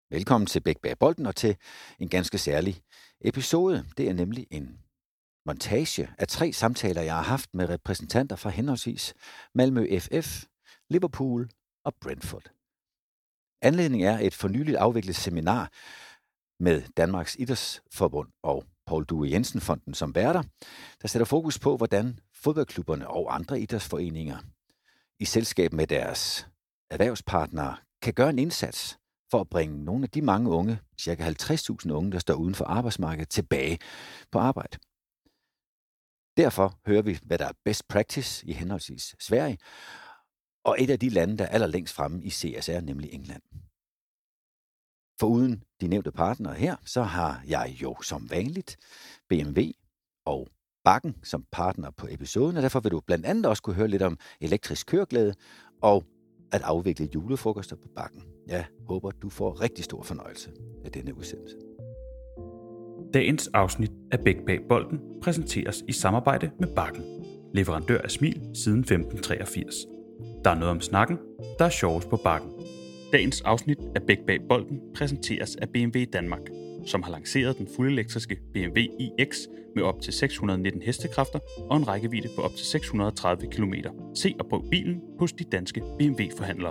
Velkommen til Bæk bag bolden og til en ganske særlig episode. Det er nemlig en montage af 3 samtaler, jeg har haft med repræsentanter fra henholdsvis Malmö FF, Liverpool og Brentford. Anledningen er et for nyligt afviklet seminar med Danmarks Idrætsforbund og Poul Due Jensen Fonden som værter, der sætter fokus på, hvordan fodboldklubberne og andre idrætsforeninger i selskab med deres erhvervspartnere kan gøre en indsats for at bringe nogle af de mange unge, ca. 50.000 unge, der står uden for arbejdsmarkedet, tilbage på arbejde. Derfor hører vi, hvad der er best practice i henholdsvis Sverige, og et af de lande, der er allerlængst fremme i CSR, nemlig England. Foruden de nævnte partnere her, så har jeg jo som vanligt BMW og Bakken som partner på episoden, og derfor vil du blandt andet også kunne høre lidt om elektrisk køreglæde og at afvikle julefrokoster på Bakken. Jeg håber, du får rigtig stor fornøjelse af denne udsendelse. Dagens afsnit af Bæk bag bolden præsenteres i samarbejde med Bakken, leverandør af smil siden 1583. Der er noget om snakken, der er sjovest på Bakken. Dagens afsnit af Bæk bag bolden præsenteres af BMW Danmark, som har lanceret den fuldelektriske BMW iX med op til 619 hestekræfter og en rækkevidde på op til 630 km. Se og prøv bilen hos de danske BMW-forhandlere.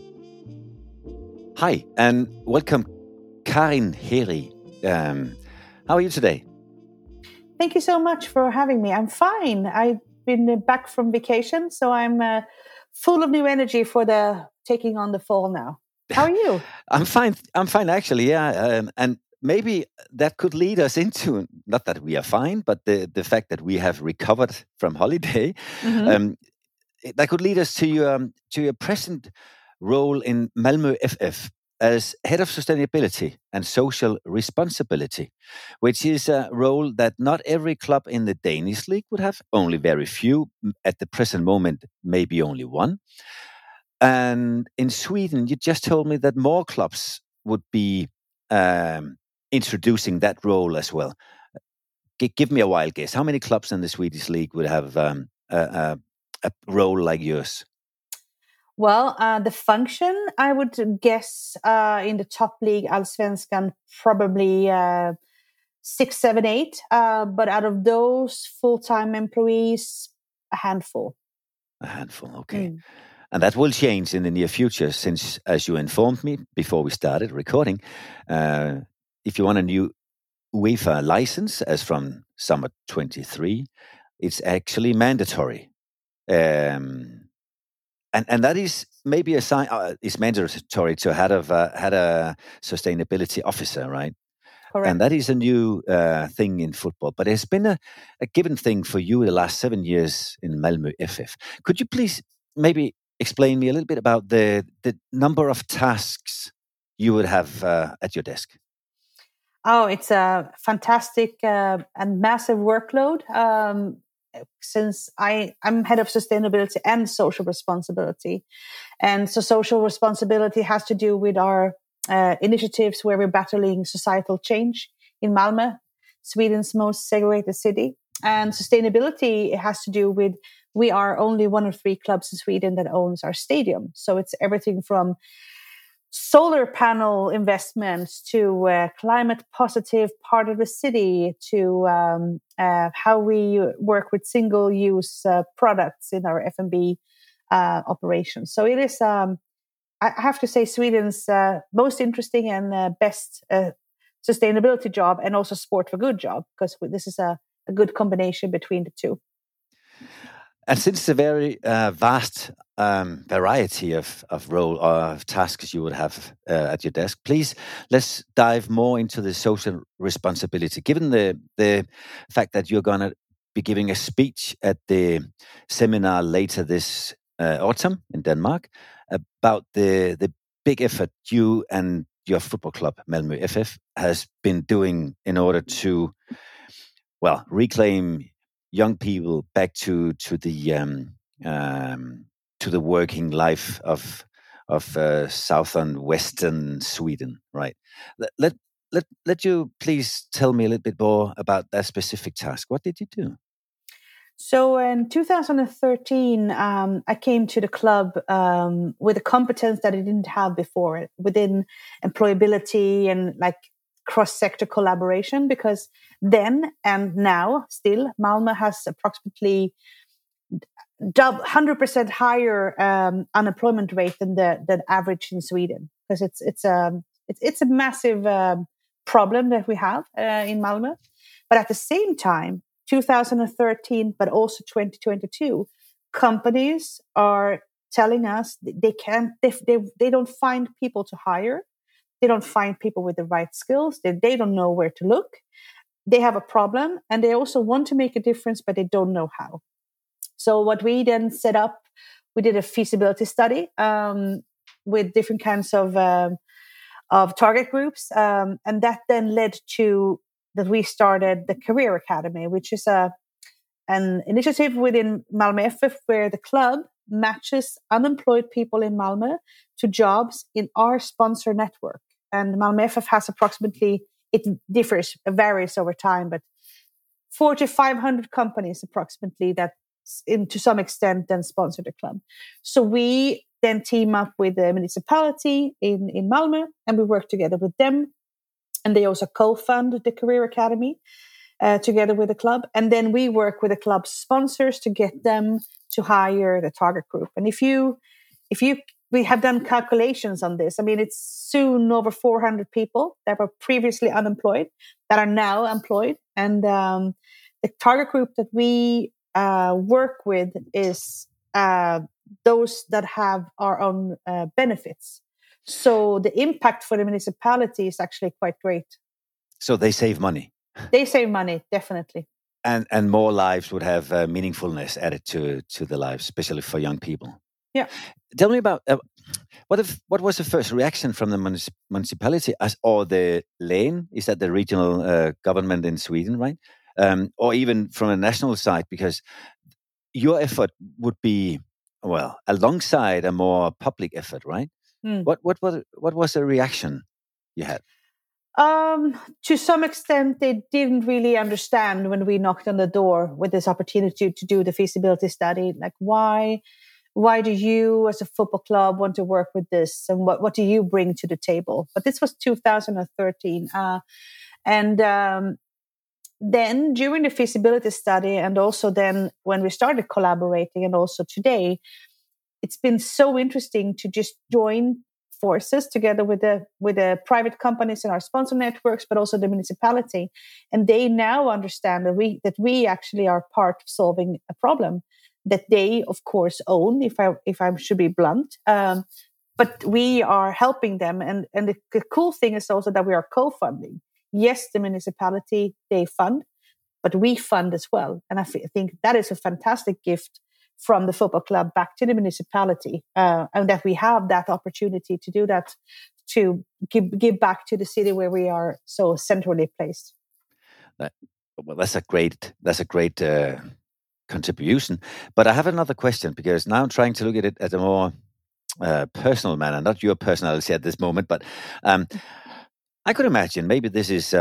Hi, and welcome, Karin Heri. How are you today? Thank you so much for having me. I'm fine. I've been back from vacation, so I'm full of new energy for taking on the fall now. How are you? I'm fine actually, yeah. And maybe that could lead us into, not that we are fine, but the fact that we have recovered from holiday. Mm-hmm. That could lead us to your present role in Malmö FF as head of sustainability and social responsibility, which is a role that not every club in the Danish league would have, only very few. At the present moment, maybe only one. And in Sweden, you just told me that more clubs would be introducing that role as well. Give me a wild guess. How many clubs in the Swedish league would have a role like yours? Well, the function, I would guess in the top league, Allsvenskan, probably 6, 7, 8. But out of those full-time employees, a handful. A handful, okay. And that will change in the near future since, as you informed me before we started recording, if you want a new UEFA license, as from summer 23, it's actually mandatory. And that is maybe a sign. It's mandatory to had a sustainability officer, right? Correct. And that is a new thing in football. But it's been a given thing for you the last 7 years in Malmö FF. Could you please maybe explain me a little bit about the number of tasks you would have at your desk? Oh, it's a fantastic and massive workload. Since I'm head of sustainability and social responsibility. And so social responsibility has to do with our initiatives where we're battling societal change in Malmö, Sweden's most segregated city. And sustainability has to do with we are only one of 3 clubs in Sweden that owns our stadium. So it's everything from solar panel investments to climate positive part of the city to how we work with single use products in our F&B operations. So it is, I have to say, Sweden's most interesting and best sustainability job, and also sport for good job, because this is a good combination between the two. And since the very vast variety of role or of tasks you would have at your desk, please let's dive more into the social responsibility. Given the fact that you're going to be giving a speech at the seminar later this autumn in Denmark about the big effort you and your football club Malmö FF has been doing in order to, well, reclaim young people back to the working life of southern western Sweden, right? Let you please tell me a little bit more about that specific task. What did you do? So in 2013, I came to the club with a competence that I didn't have before within employability and like cross-sector collaboration, because then and now still Malmö has approximately 100% higher unemployment rate than the average in Sweden, because it's a massive problem that we have in Malmö. But at the same time, 2013, but also 2022, companies are telling us they don't find people to hire. They don't find people with the right skills. They don't know where to look. They have a problem, and they also want to make a difference, but they don't know how. So what we then set up, we did a feasibility study with different kinds of target groups, and that then led to that we started the Career Academy, which is an initiative within Malmö FF where the club matches unemployed people in Malmö to jobs in our sponsor network. And Malmö FF has approximately, it varies over time, but 400-500 companies approximately that to some extent then sponsor the club. So we then team up with the municipality in Malmö, and we work together with them. And they also co-fund the Career Academy together with the club. And then we work with the club sponsors to get them to hire the target group. And we have done calculations on this. I mean, it's soon over 400 people that were previously unemployed that are now employed. And the target group that we work with is those that have our own benefits. So the impact for the municipality is actually quite great. So they save money. They save money, definitely. And more lives would have meaningfulness added to the lives, especially for young people. Yeah. Tell me about what was the first reaction from the municipality or the län? Is that the regional government in Sweden, right? Or even from a national side, because your effort would be alongside a more public effort, right? What was the reaction you had? To some extent, they didn't really understand when we knocked on the door with this opportunity to do the feasibility study. Like, why do you, as a football club, want to work with this, and what do you bring to the table? But this was 2013, then during the feasibility study, and also then when we started collaborating, and also today, it's been so interesting to just join forces together with the private companies in our sponsor networks, but also the municipality. And they now understand that we actually are part of solving a problem that they, of course, own, if I should be blunt. But we are helping them. And the cool thing is also that we are co-funding. Yes, the municipality, they fund, but we fund as well. And I think that is a fantastic gift from the football club back to the municipality, and that we have that opportunity to do that, to give back to the city where we are so centrally placed. That's a great contribution. But I have another question, because now I'm trying to look at it at a more personal manner, not your personality at this moment, but I could imagine maybe this is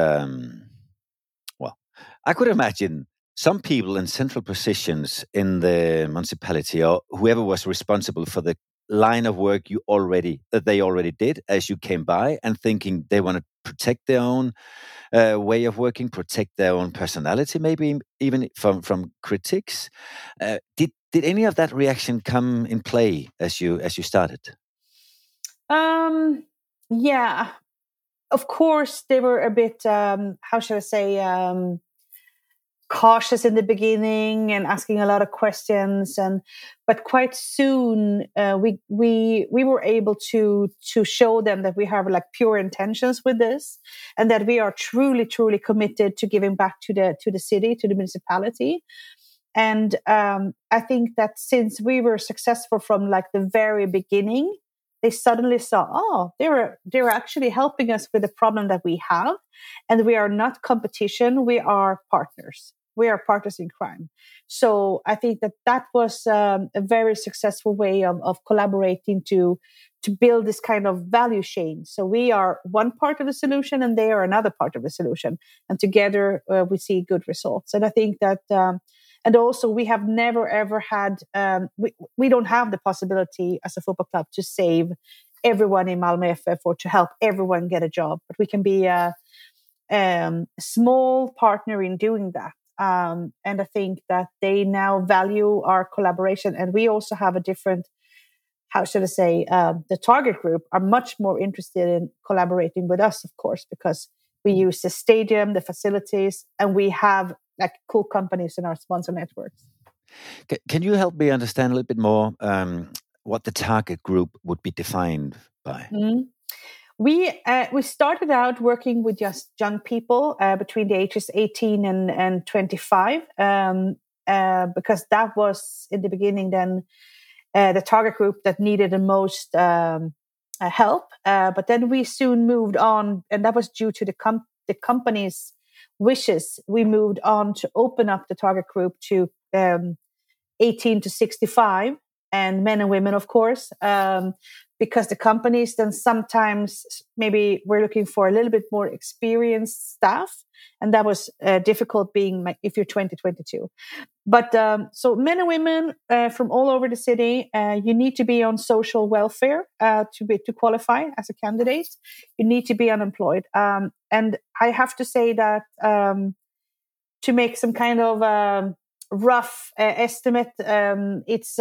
I could imagine some people in central positions in the municipality, or whoever was responsible for the line of work they already did as you came by, and thinking they want to protect their own way of working, protect their own personality, maybe even from critics. Did any of that reaction come in play as you started? Yeah, of course they were a bit how should I say, cautious in the beginning and asking a lot of questions, but quite soon we were able to show them that we have like pure intentions with this, and that we are truly committed to giving back to the city, to the municipality. And I think that since we were successful from like the very beginning, they suddenly saw, they're actually helping us with the problem that we have, and we are not competition, we are partners. We are partners in crime. So I think that was a very successful way of collaborating to build this kind of value chain. So we are one part of the solution, and they are another part of the solution. And together we see good results. And I think that And also, we have never ever had, we don't have the possibility as a football club to save everyone in Malmö FF or to help everyone get a job. But we can be a small partner in doing that. And I think that they now value our collaboration. And we also have a different, how should I say, the target group are much more interested in collaborating with us, of course, because we use the stadium, the facilities, and we have like cool companies in our sponsor networks. Can you help me understand a little bit more what the target group would be defined by? Mm-hmm. We started out working with just young people between the ages 18 and 25 because that was in the beginning then the target group that needed the most help. But then we soon moved on, and that was due to the company's wishes. We moved on to open up the target group to 18 to 65 and men and women, of course, because the companies then sometimes maybe we're looking for a little bit more experienced staff. And that was difficult being if you're 20, 22. But so men and women from all over the city, you need to be on social welfare to qualify as a candidate. You need to be unemployed. And I have to say that to make some kind of rough estimate, it's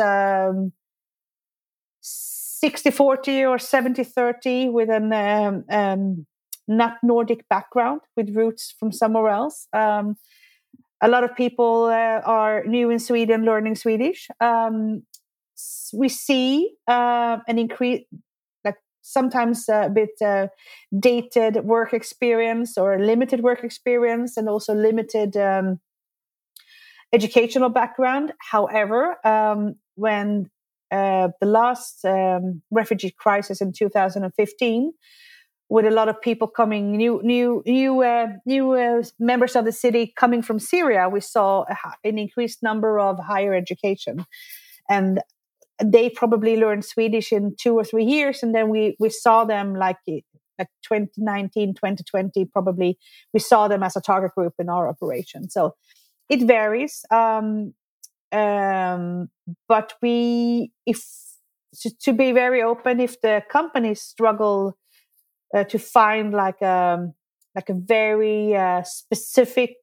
60-40 or 70-30 with an not Nordic background with roots from somewhere else. A lot of people are new in Sweden learning Swedish. We see an increase, like sometimes a bit dated work experience or limited work experience and also limited educational background. However, when the last refugee crisis in 2015, with a lot of people coming, new members of the city coming from Syria, we saw an increased number of higher education, and they probably learned Swedish in 2 or 3 years, and then we saw them like 2019, 2020, probably we saw them as a target group in our operation. So it varies, but to be very open, if the companies struggle to find like a very specific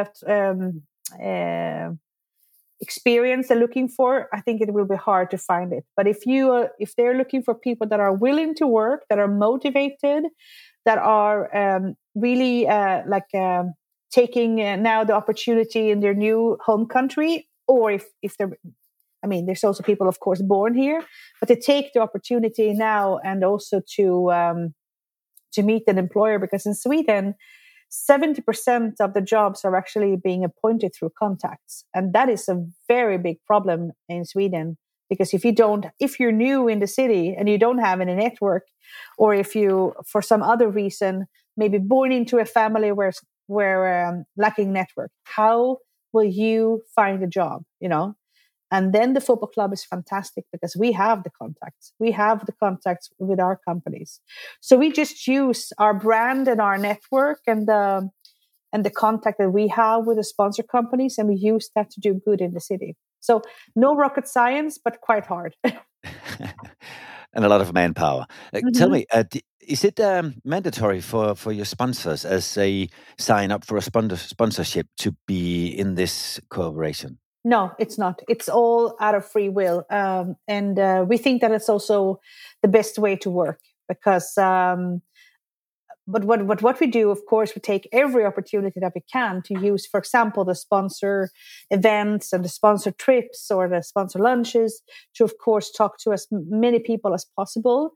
experience they're looking for, I think it will be hard to find it. But if they're looking for people that are willing to work, that are motivated, that are really taking now the opportunity in their new home country, or if they're, I mean, there's also people, of course, born here, but they take the opportunity now and also to meet an employer, because in Sweden, 70% of the jobs are actually being appointed through contacts. And that is a very big problem in Sweden, because if you're new in the city and you don't have any network, or if you, for some other reason, maybe born into a family where lacking network, how will you find a job, And then the football club is fantastic because we have the contacts. We have the contacts with our companies. So we just use our brand and our network and the contact that we have with the sponsor companies, and we use that to do good in the city. So no rocket science, but quite hard. And a lot of manpower. Tell me, is it mandatory for your sponsors as they sign up for a sponsorship to be in this cooperation? No, it's not. It's all out of free will. And we think that it's also the best way to work because, but what we do, of course, we take every opportunity that we can to use, for example, the sponsor events and the sponsor trips or the sponsor lunches to, of course, talk to as many people as possible.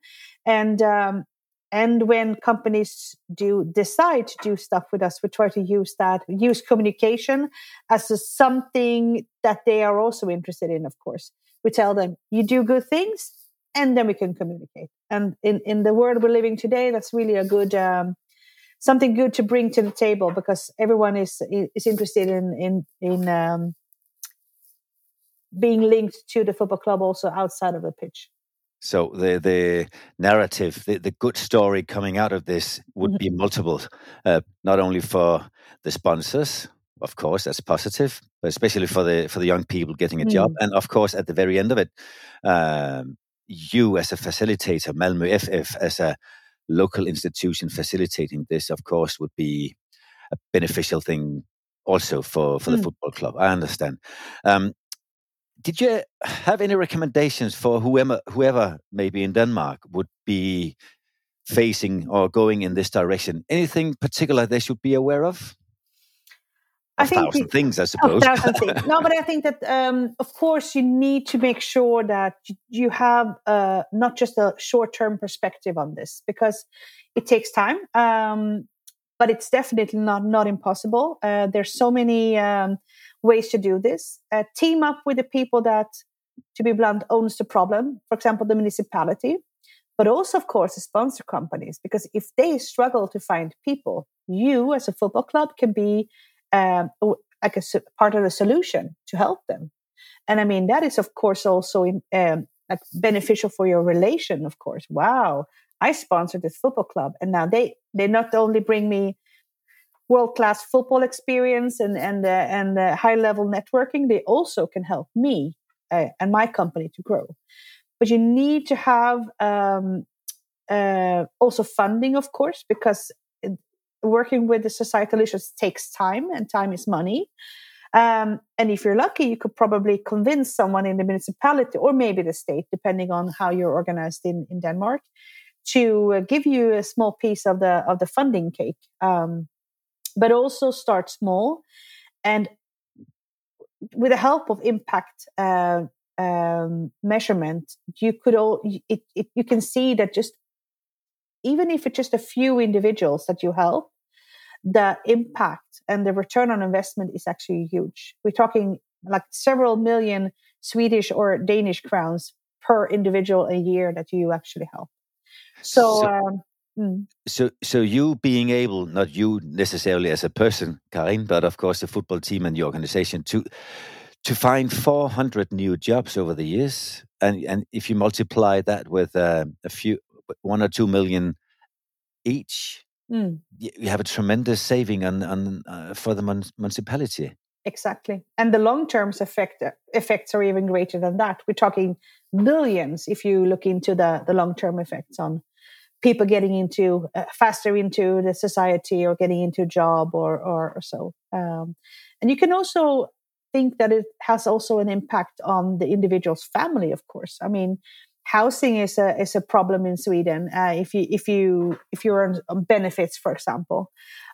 And when companies do decide to do stuff with us, we try to use communication as something that they are also interested in, of course. We tell them, you do good things, and then we can communicate. And in the world we're living today, that's really a good, something good to bring to the table, because everyone is interested in being linked to the football club also outside of the pitch. So the narrative, the good story coming out of this would be multiple, not only for the sponsors, of course, that's positive, but especially for the young people getting a job. And of course, at the very end of it, you as a facilitator, Malmö FF, as a local institution facilitating this, of course, would be a beneficial thing also for the football club. I understand. Did you have any recommendations for whoever maybe in Denmark would be facing or going in this direction? Anything particular they should be aware of? A thousand things, I suppose. No, but I think that, of course, you need to make sure that you have not just a short-term perspective on this, because it takes time, but it's definitely not impossible. There's so many ways to do this. Team up with the people that, to be blunt, owns the problem. For example, the municipality, but also, of course, the sponsor companies, because if they struggle to find people, you as a football club can be like a part of the solution to help them. And I mean, that is, of course, also like beneficial for your relation, of course. Wow, I sponsored this football club, and now they not only bring me world-class football experience and high-level networking, they also can help me and my company to grow. But you need to have also funding, of course, because working with the societal issues takes time, and time is money. And if you're lucky, you could probably convince someone in the municipality or maybe the state, depending on how you're organized in Denmark, to give you a small piece of the funding cake. But also start small, and with the help of impact measurement, you can see that just even if it's just a few individuals that you help, the impact and the return on investment is actually huge. We're talking like several million Swedish or Danish crowns per individual a year that you actually help. So you being able, not you necessarily as a person, Karin, but of course the football team and the organization, to find 400 new jobs over the years, and if you multiply that with a few 1 or 2 million each, you have a tremendous saving on for the municipality. Exactly, and the long-term effects are even greater than that. We're talking billions if you look into the long-term effects on people getting into faster into the society or getting into a job or so. And you can also think that it has also an impact on the individual's family, of course. I mean, housing is a problem in Sweden. If you're on benefits, for example.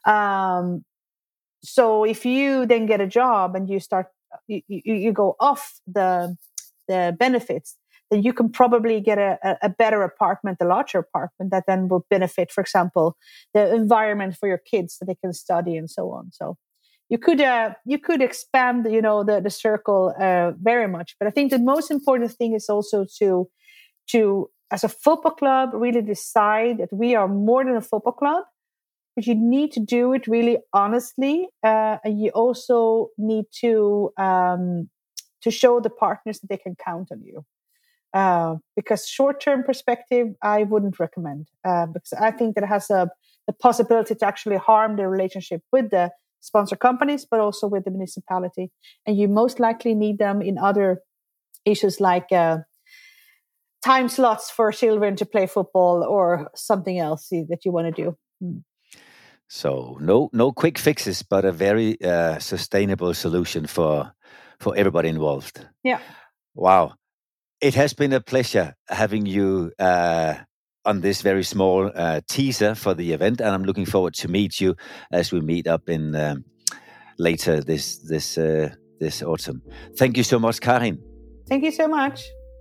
So if you then get a job and you go off the benefits, then you can probably get a better apartment, a larger apartment that then will benefit, for example, the environment for your kids so they can study and so on. So you could expand, the circle very much. But I think the most important thing is also to as a football club really decide that we are more than a football club. But you need to do it really honestly, and you also need to show the partners that they can count on you. Because short-term perspective, I wouldn't recommend, because I think that it has the possibility to actually harm the relationship with the sponsor companies, but also with the municipality. And you most likely need them in other issues like time slots for children to play football or something else that you want to do. So no quick fixes, but a very sustainable solution for everybody involved. Yeah. Wow. It has been a pleasure having you on this very small teaser for the event, and I'm looking forward to meet you as we meet up in later this autumn. Thank you so much, Karin. Thank you so much.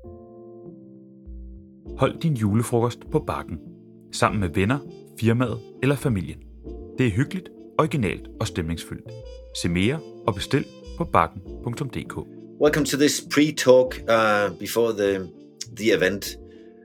Hold din julefrokost på Bakken, sammen med venner, firmaet eller familien. Det er hyggeligt, originalt og stemningsfyldt. Se mere og bestil på bakken.dk. Welcome to this pre-talk before the event,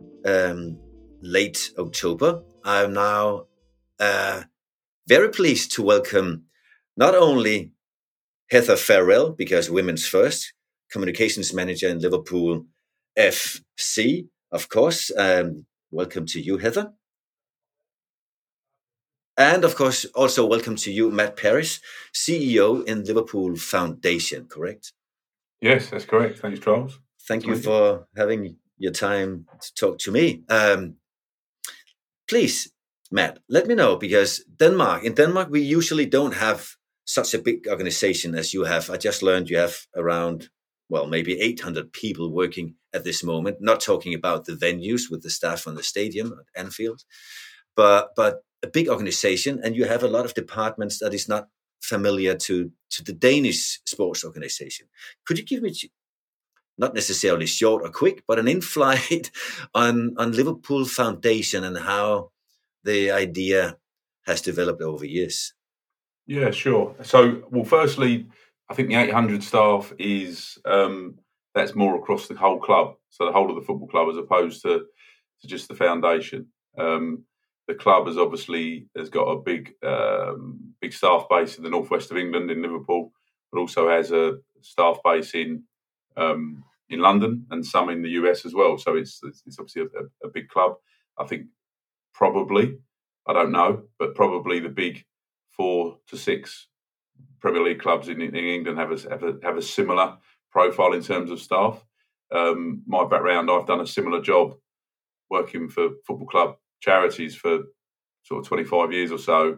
late October. I'm now very pleased to welcome not only Heather Farrell, because Women's First, Communications Manager in Liverpool FC, of course. Welcome to you, Heather. And of course, also welcome to you, Matt Parris, CEO in Liverpool Foundation, correct? Yes, that's correct. Thanks, Charles. Thank you for having your time to talk to me. Please, Matt, let me know, because in Denmark, we usually don't have such a big organization as you have. I just learned you have around, maybe 800 people working at this moment, not talking about the venues with the staff on the stadium at Anfield, but a big organization, and you have a lot of departments that is not familiar to the Danish sports organization. Could you give me, not necessarily short or quick, but an in-flight on Liverpool Foundation and how the idea has developed over years? Yeah, sure. So, firstly, I think the 800 staff is that's more across the whole club, so the whole of the football club, as opposed to just the foundation. The club has got a big staff base in the northwest of England, in Liverpool, but also has a staff base in London and some in the US as well. So it's obviously a big club. I think probably, I don't know, but probably the big 4 to 6 Premier League clubs in England have a similar profile in terms of staff. My background, I've done a similar job working for football club charities for sort of 25 years or so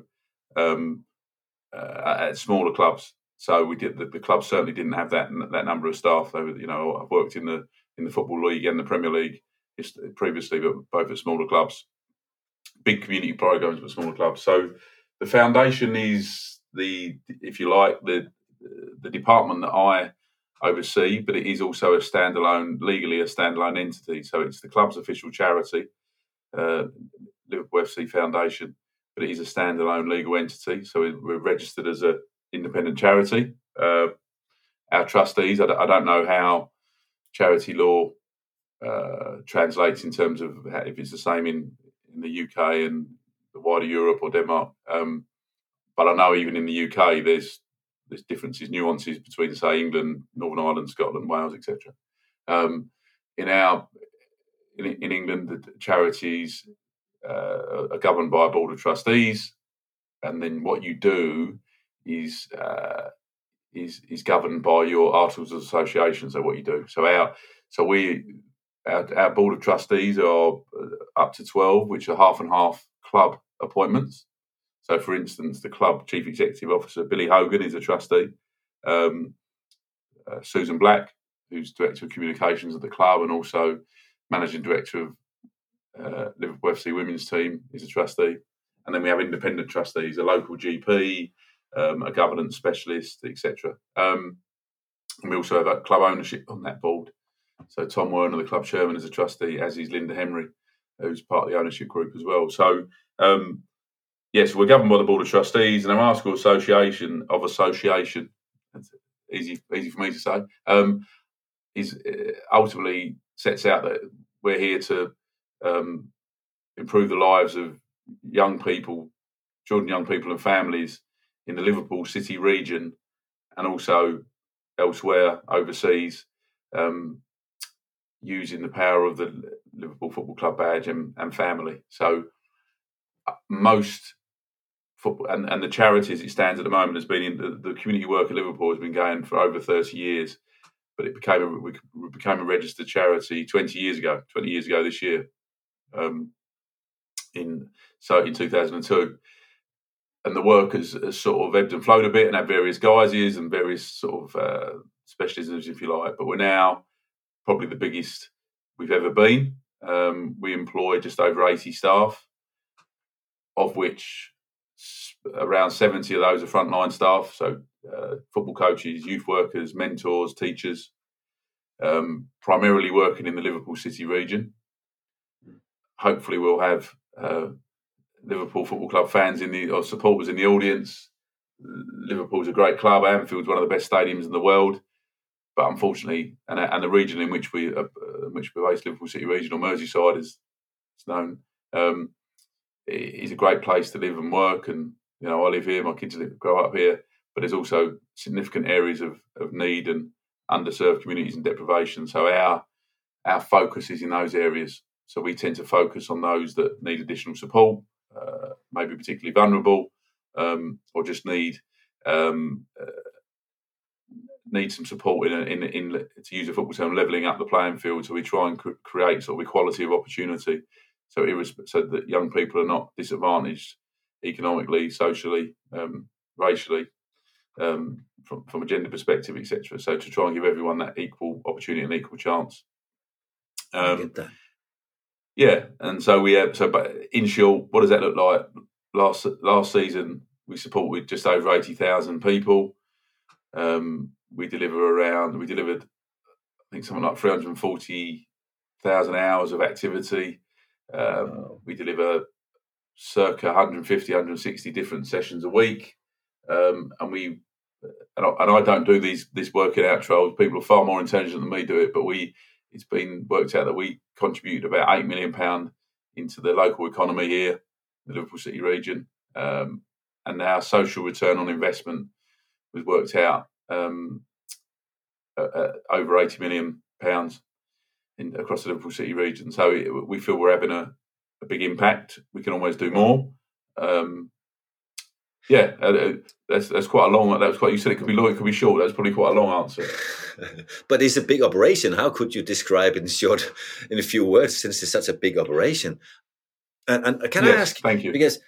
at smaller clubs. So we did. The club certainly didn't have that number of staff. I've worked in the Football League and the Premier League previously, but both at smaller clubs, big community programs, but smaller clubs. So the foundation is if you like, the department that I oversee, but it is also legally a standalone entity. So it's the club's official charity, Liverpool FC Foundation, but it is a standalone legal entity. So we're registered as an independent charity. Our trustees, I don't know how charity law translates in terms of if it's the same in the UK and the wider Europe or Denmark. But I know even in the UK, there's differences, nuances between, say, England, Northern Ireland, Scotland, Wales, etc. In England, the charities are governed by a board of trustees, and then what you do is governed by your articles of association. So what you do. Our board of trustees are up to 12, which are half and half club appointments. So, for instance, the club chief executive officer, Billy Hogan, is a trustee. Susan Black, who's director of communications at the club and also managing director of Liverpool FC women's team, is a trustee. And then we have independent trustees, a local GP, a governance specialist, etc. And we also have a club ownership on that board. So Tom Werner, the club chairman, is a trustee, as is Linda Henry, who's part of the ownership group as well. So, yes, we're governed by the board of trustees, and our article association, that's easy for me to say, is ultimately sets out that we're here to improve the lives of children, young people and families in the Liverpool City region and also elsewhere overseas, using the power of the Liverpool Football Club badge and family. So most football and the charity as it stands at the moment has been in the community work at Liverpool has been going for over 30 years, but we became a registered charity 20 years ago this year, in 2002. And the work has sort of ebbed and flowed a bit and had various guises and various sort of specialisms, if you like. But we're now probably the biggest we've ever been. We employ just over 80 staff, of which around 70 of those are frontline staff. So football coaches, youth workers, mentors, teachers, primarily working in the Liverpool City region. Hopefully we'll have Liverpool Football Club fans or supporters in the audience. Liverpool's a great club. Anfield's one of the best stadiums in the world. But unfortunately, and the region in which we're based, Liverpool City region, or Merseyside, as it's known, is a great place to live and work. And I live here, my kids grow up here. But there's also significant areas of need and underserved communities and deprivation. So our focus is in those areas. So we tend to focus on those that need additional support, maybe particularly vulnerable, or just need some support in to use a football term, levelling up the playing field. So we try and create sort of equality of opportunity, so that young people are not disadvantaged economically, socially, racially, from a gender perspective, etc. So to try and give everyone that equal opportunity and equal chance. I get that. Yeah, and so we have. But in short, what does that look like? Last season, we supported just over 80,000 people. We delivered, I think, something like 340,000 hours of activity. We deliver circa 150, 160 different sessions a week, and I don't do this working out trials. People are far more intelligent than me do it, but it's been worked out that we contribute about £8 million into the local economy here, the Liverpool City region, and our social return on investment was worked out over £80 million across the Liverpool City region. So we feel we're having a big impact. We can always do more. That's quite a long. That was quite. You said it could be long, it could be short. That's probably quite a long answer. But it's a big operation. How could you describe it in a few words, since it's such a big operation? And can I ask? Thank you. Because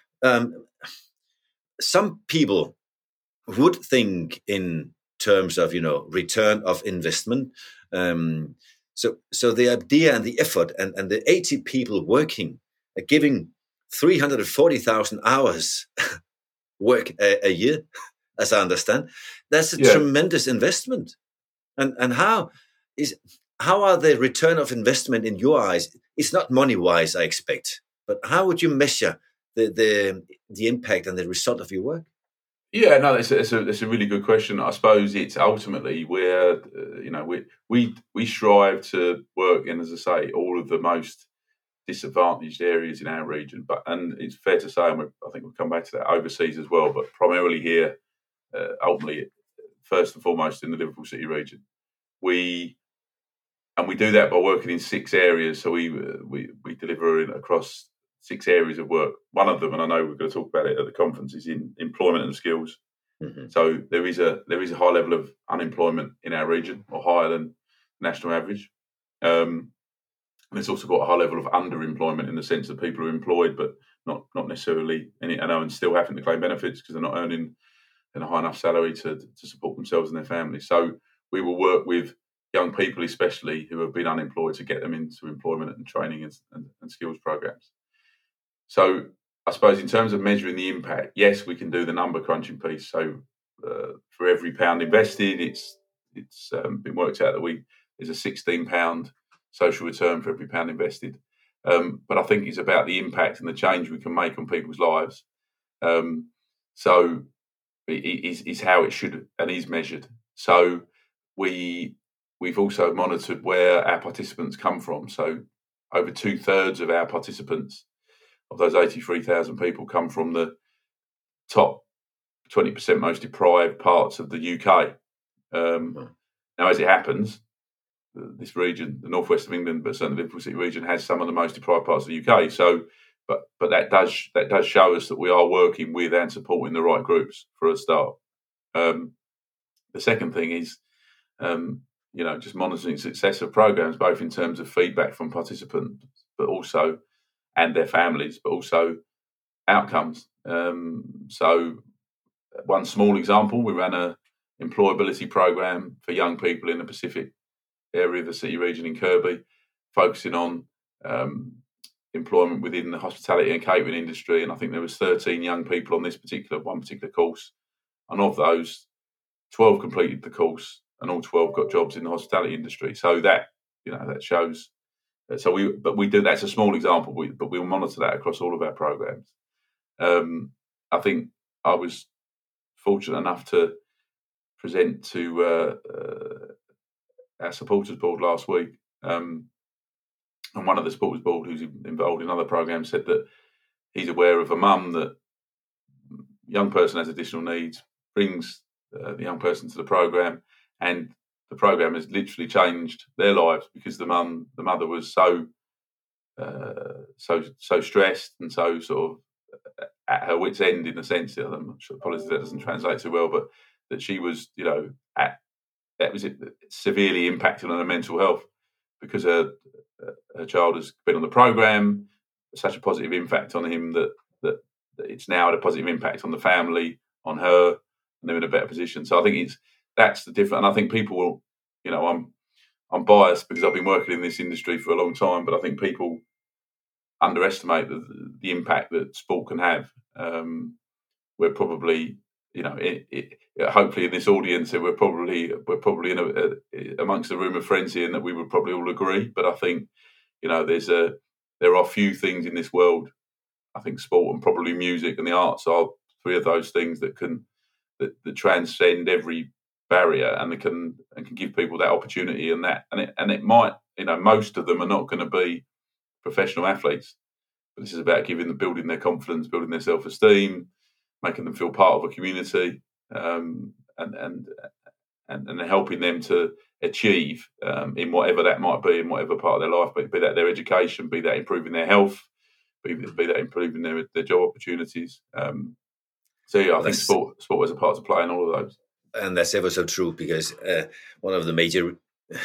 some people would think in terms of return of investment. So the idea and the effort and the 80 people working, giving 340,000 hours work a year, as I understand, that's a tremendous investment. And how are the return of investment in your eyes? It's not money wise, I expect, but how would you measure the impact and the result of your work? Yeah, no, it's a really good question. I suppose it's ultimately where we strive to work in, as I say, all of the most disadvantaged areas in our region. And it's fair to say, and I think we'll come back to that overseas as well, but primarily here, ultimately, first and foremost in the Liverpool City region. We do that by working in 6 areas. So we deliver across 6 areas of work. One of them, and I know we're going to talk about it at the conference, is in employment and skills. Mm-hmm. So there is a high level of unemployment in our region, or higher than national average. And it's also got a high level of underemployment in the sense that people are employed but not necessarily and still having to claim benefits because they're not earning a high enough salary to support themselves and their families. So we will work with young people, especially who have been unemployed, to get them into employment and training and skills programs. So I suppose in terms of measuring the impact, yes, we can do the number crunching piece. So for every pound invested, it's been worked out that there's a £16 social return for every pound invested. But I think it's about the impact and the change we can make on people's lives. So it is how it should and is measured. So we've also monitored where our participants come from. So over 2/3 of our participants, of those 83,000 people, come from the top 20% most deprived parts of the UK. Now, as it happens, this region, the northwest of England, but certainly the Liverpool City region, has some of the most deprived parts of the UK. So, but that does show us that we are working with and supporting the right groups for a start. The second thing is, just monitoring success of programs, both in terms of feedback from participants, but also and their families, but also outcomes. So, one small example: we ran a employability program for young people in the Pacific area of the city region in Kirkby, focusing on employment within the hospitality and catering industry. And I think there was 13 young people on this one particular course, and of those, 12 completed the course, and all 12 got jobs in the hospitality industry. So that shows. So we do. That's a small example, but we'll monitor that across all of our programs. I think I was fortunate enough to present to our supporters board last week, and one of the supporters board who's involved in other programs said that he's aware of a mum that young person has additional needs, brings the young person to the program, and the program has literally changed their lives because the mother was so stressed and so sort at her wit's end in a sense. I'm sure, apologies that doesn't translate so well, but that she was, that was severely impacted on her mental health because her child has been on the programme, such a positive impact on him that it's now had a positive impact on the family, on her, and they're in a better position. So I think that's the difference. And I think people will, I'm biased because I've been working in this industry for a long time, but I think people underestimate the impact that sport can have. We're probably, hopefully in this audience, we're probably in amongst a room of friends here, and that we would probably all agree. But I think, there are few things in this world. I think sport and probably music and the arts are three of those things that transcend every barrier and can give people that opportunity and it might, most of them are not going to be professional athletes, but this is about building their confidence, building their self-esteem, making them feel part of a community, and helping them to achieve in whatever that might be, in whatever part of their life, be that their education, be that improving their health, be that improving their job opportunities. I think sport has a part to play in all of those. And that's ever so true, because one of the major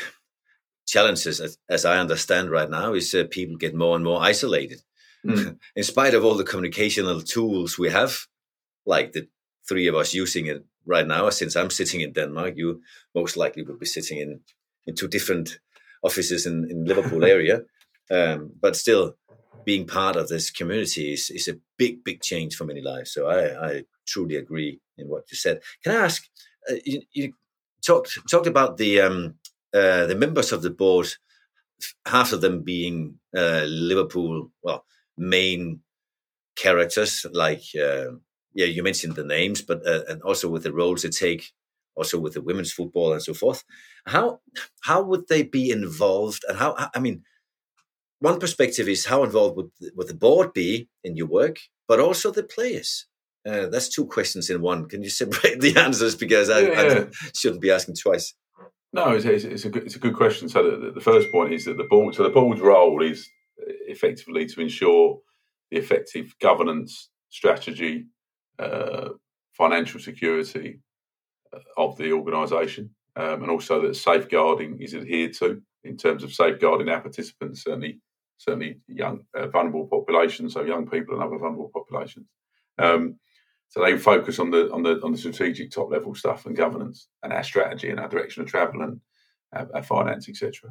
challenges, as I understand right now, is people get more and more isolated. In spite of all the communicational tools we have, like the three of us using it right now, since I'm sitting in Denmark, you most likely would be sitting in two different offices in Liverpool area. But still, being part of this community is a big, big change for many lives. So I truly agree in what you said. Can I ask, you talked about the members of the board, half of them being Liverpool, main characters, like you mentioned the names, but and also with the roles they take, also with the women's football and so forth. How would they be involved? And one perspective is how involved would the board be in your work, but also the players. That's two questions in one. Can you separate the answers, because I shouldn't be asking twice? No, it's a good question. So the first point is that the board's role is effectively to ensure the effective governance, strategy, financial security of the organisation, and also that safeguarding is adhered to in terms of safeguarding our participants, certainly young vulnerable populations, so young people and other vulnerable populations. So they focus on the strategic top level stuff and governance and our strategy and our direction of travel and our finance, etc.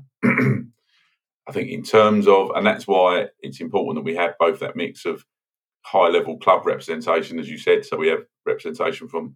I think in terms of, and that's why it's important that we have both that mix of high level club representation, as you said. So we have representation from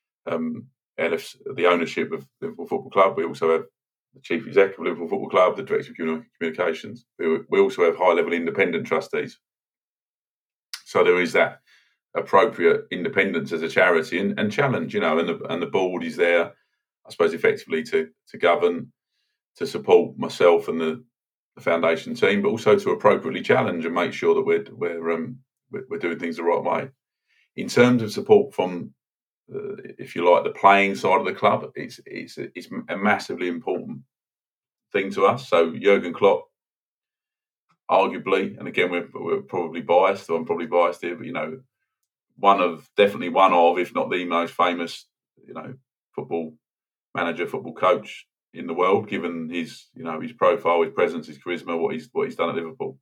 the ownership of Liverpool Football Club. We also have the chief executive of Liverpool Football Club, the director of communications. We also have high level independent trustees. So there is that appropriate independence as a charity and challenge, and the board is there, I suppose, effectively to govern, to support myself and the foundation team, but also to appropriately challenge and make sure that we're doing things the right way. In terms of support from, if you like, the playing side of the club, it's a massively important thing to us. So Jurgen Klopp, arguably, and again we're probably biased, or I'm probably biased here, but definitely one of, if not the most famous, football manager, football coach in the world, given his profile, his presence, his charisma, what he's done at Liverpool.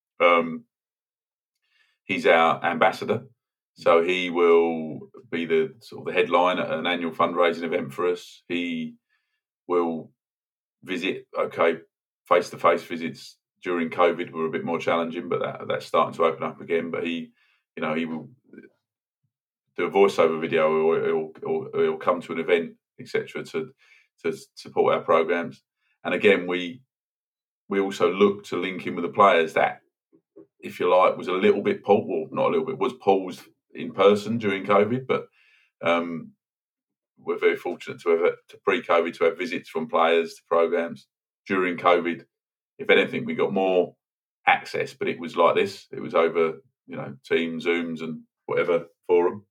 He's our ambassador, so he will be the sort of the headline at an annual fundraising event for us. He will visit. Face-to-face visits during COVID were a bit more challenging, but that's starting to open up again. But he will do a voiceover video, or he'll come to an event, etc., to support our programs. And again, we also look to link in with the players that, if you like, was a little bit paused, well, not a little bit, was paused in person during COVID, but we're very fortunate to pre-COVID to have visits from players to programs. During COVID, if anything, we got more access, but it was like this. It was over, Teams, Zooms, and whatever forum.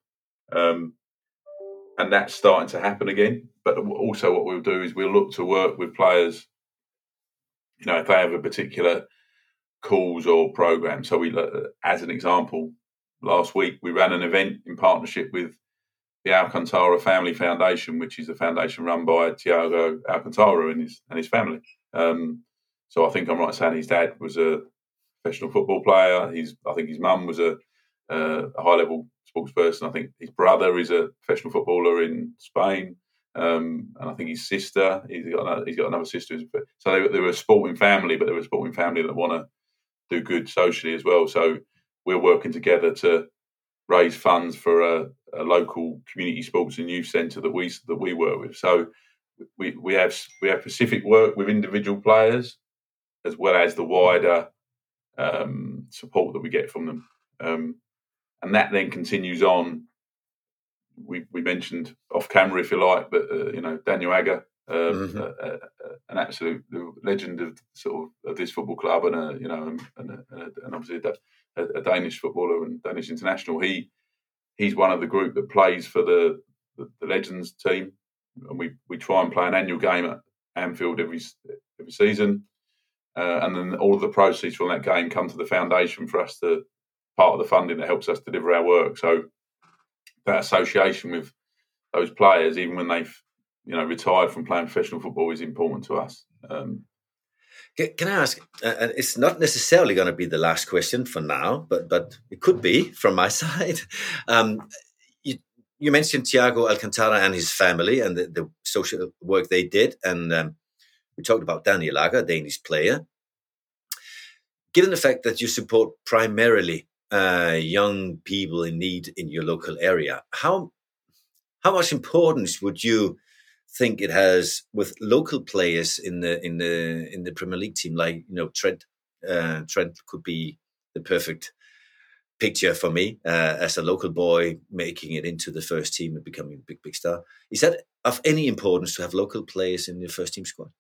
And that's starting to happen again. But also what we'll do is we'll look to work with players, if they have a particular cause or program. So we, as an example, last week we ran an event in partnership with the Alcantara Family Foundation, which is a foundation run by Thiago Alcantara and his family. So I think I'm right in saying his dad was a professional football player. I think his mum was a high-level sports person. I think his brother is a professional footballer in Spain, and I think his sister. He's got another sister. So they were a sporting family, but they were a sporting family that want to do good socially as well. So we're working together to raise funds for a local community sports and youth centre that we work with. So we have specific work with individual players as well as the wider support that we get from them, and that then continues on. We mentioned off camera, if you like, but Daniel Agger, an absolute legend of this football club, and obviously a Danish footballer and Danish international. He's one of the group that plays for the Legends team, and we try and play an annual game at Anfield every season, and then all of the proceeds from that game come to the foundation for us to part of the funding that helps us deliver our work. So that association with those players, even when they've retired from playing professional football, is important to us. Can I ask, and it's not necessarily going to be the last question for now, but it could be from my side. You mentioned Thiago Alcantara and his family and the social work they did, and we talked about Daniel Agger, a Danish player. Given the fact that you support primarily young people in need in your local area, how much importance would you think it has with local players in the Premier League team? Like Trent could be the perfect picture for me as a local boy making it into the first team and becoming a big star. Is that of any importance to have local players in the first team squad?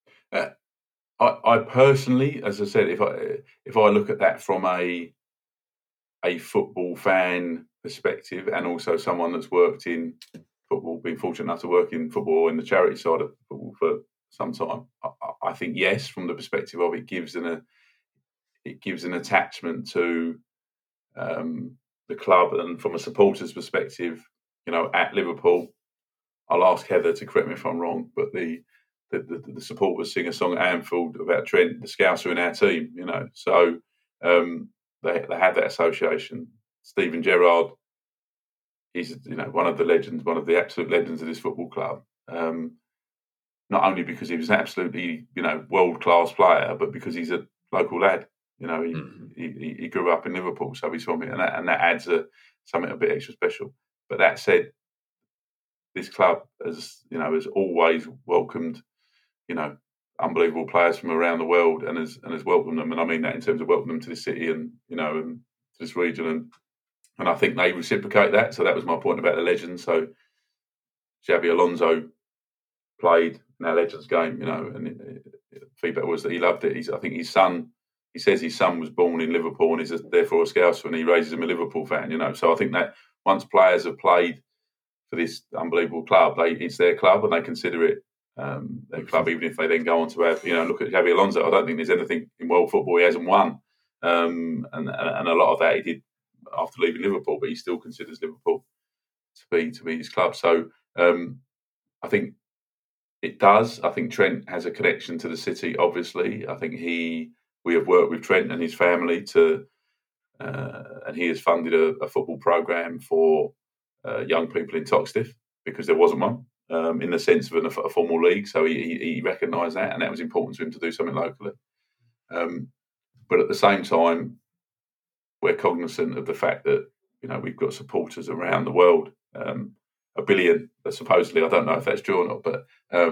I personally, as I said, if I look at that from a football fan perspective, and also someone that's worked in football, been fortunate enough to work in football in the charity side of football for some time, I think yes, from the perspective of it gives an attachment to the club, and from a supporter's perspective, at Liverpool, I'll ask Heather to correct me if I'm wrong, but the supporters sing a song at Anfield about Trent, the Scouser in our team, so they have that association. Steven Gerrard is one of the legends, one of the absolute legends of this football club. Not only because he was an absolutely world class player, but because he's a local lad. He grew up in Liverpool, so he's from it, and that adds something a bit extra special. But that said, this club has always welcomed unbelievable players from around the world, and has welcomed them, and I mean that in terms of welcoming them to this city and and to this region, and I think they reciprocate that. So that was my point about the legends. So Xabi Alonso played in our Legends game, and feedback was that he loved it. I think his son. He says his son was born in Liverpool and is therefore a Scouser, and he raises him a Liverpool fan. So I think that once players have played for this unbelievable club, it's their club and they consider it their club, even if they then go on to have, look at Xabi Alonso. I don't think there's anything in world football he hasn't won, and a lot of that he did after leaving Liverpool, but he still considers Liverpool to be his club. So I think it does. I think Trent has a connection to the city. Obviously, I think we have worked with Trent and his family and he has funded a football program for young people in Toxteth, because there wasn't one in the sense of a formal league. So he recognised that, and that was important to him to do something locally. But at the same time, we're cognizant of the fact that we've got supporters around the world, 1 billion supposedly. I don't know if that's true or not, but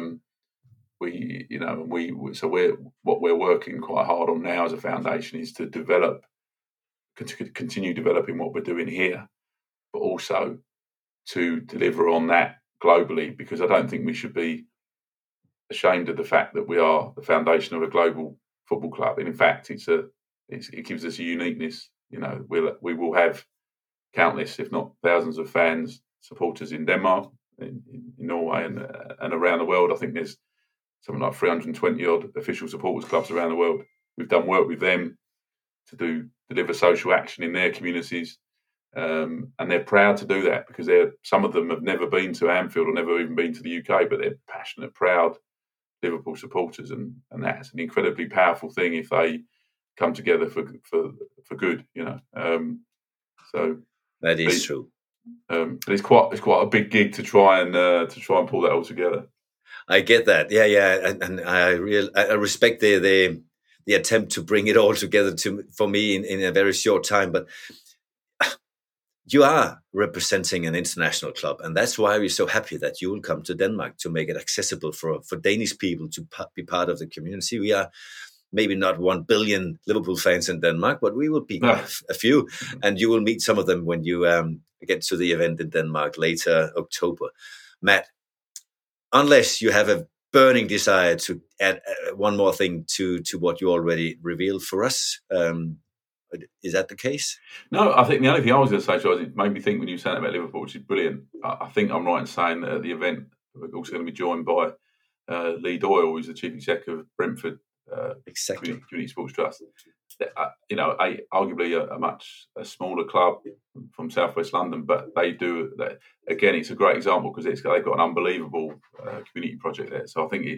we're working quite hard on now as a foundation is to continue developing what we're doing here, but also to deliver on that globally, because I don't think we should be ashamed of the fact that we are the foundation of a global football club. And in fact, it gives us a uniqueness. We will have countless, if not thousands, of fans, supporters in Denmark, in Norway, and around the world. I think there's something like 320 odd official supporters clubs around the world. We've done work with them to deliver social action in their communities. And they're proud to do that because some of them have never been to Anfield or never even been to the UK, but they're passionate, proud Liverpool supporters, and that's an incredibly powerful thing if they come together for good, So that is true. But it's quite a big gig to try and pull that all together. I get that, yeah, and I respect the attempt to bring it all together for me in a very short time, but you are representing an international club, and that's why we're so happy that you will come to Denmark to make it accessible for Danish people to be part of the community. We are maybe not 1 billion Liverpool fans in Denmark, but we will be a few, and you will meet some of them when you get to the event in Denmark later October. Matt, unless you have a burning desire to add one more thing to what you already revealed for us, is that the case? No, I think the only thing I was going to say, Charles, it made me think when you said about Liverpool, which is brilliant. I think I'm right in saying that at the event we're also going to be joined by Lee Doyle, who's the chief executive of Brentford Community Sports Trust. Arguably a smaller club from southwest London, but they do that. Again, it's a great example because they've got an unbelievable community project there. So I think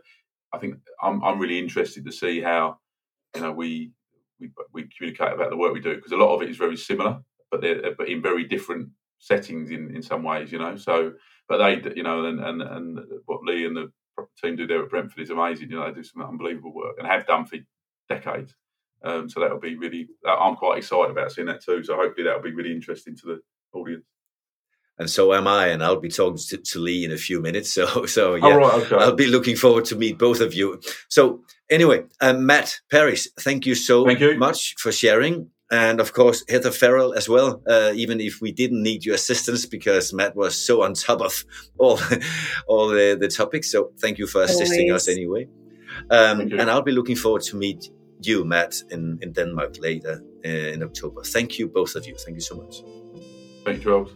I'm really interested to see how we communicate about the work we do, because a lot of it is very similar, but in very different settings in some ways. So, but they, and what Lee and the team do there at Brentford is amazing. They do some unbelievable work and have done for decades. So that'll be really. I'm quite excited about seeing that too. So hopefully that'll be really interesting to the audience. And so am I, and I'll be talking to Lee in a few minutes. So yeah, right, okay. I'll be looking forward to meet both of you. So anyway, Matt Parris, thank you so much for sharing. And of course, Heather Farrell as well, even if we didn't need your assistance because Matt was so on top of all the topics. So thank you for assisting us anyway. And I'll be looking forward to meet you, Matt, in Denmark later in October. Thank you, both of you. Thank you so much. Thank you, Charles.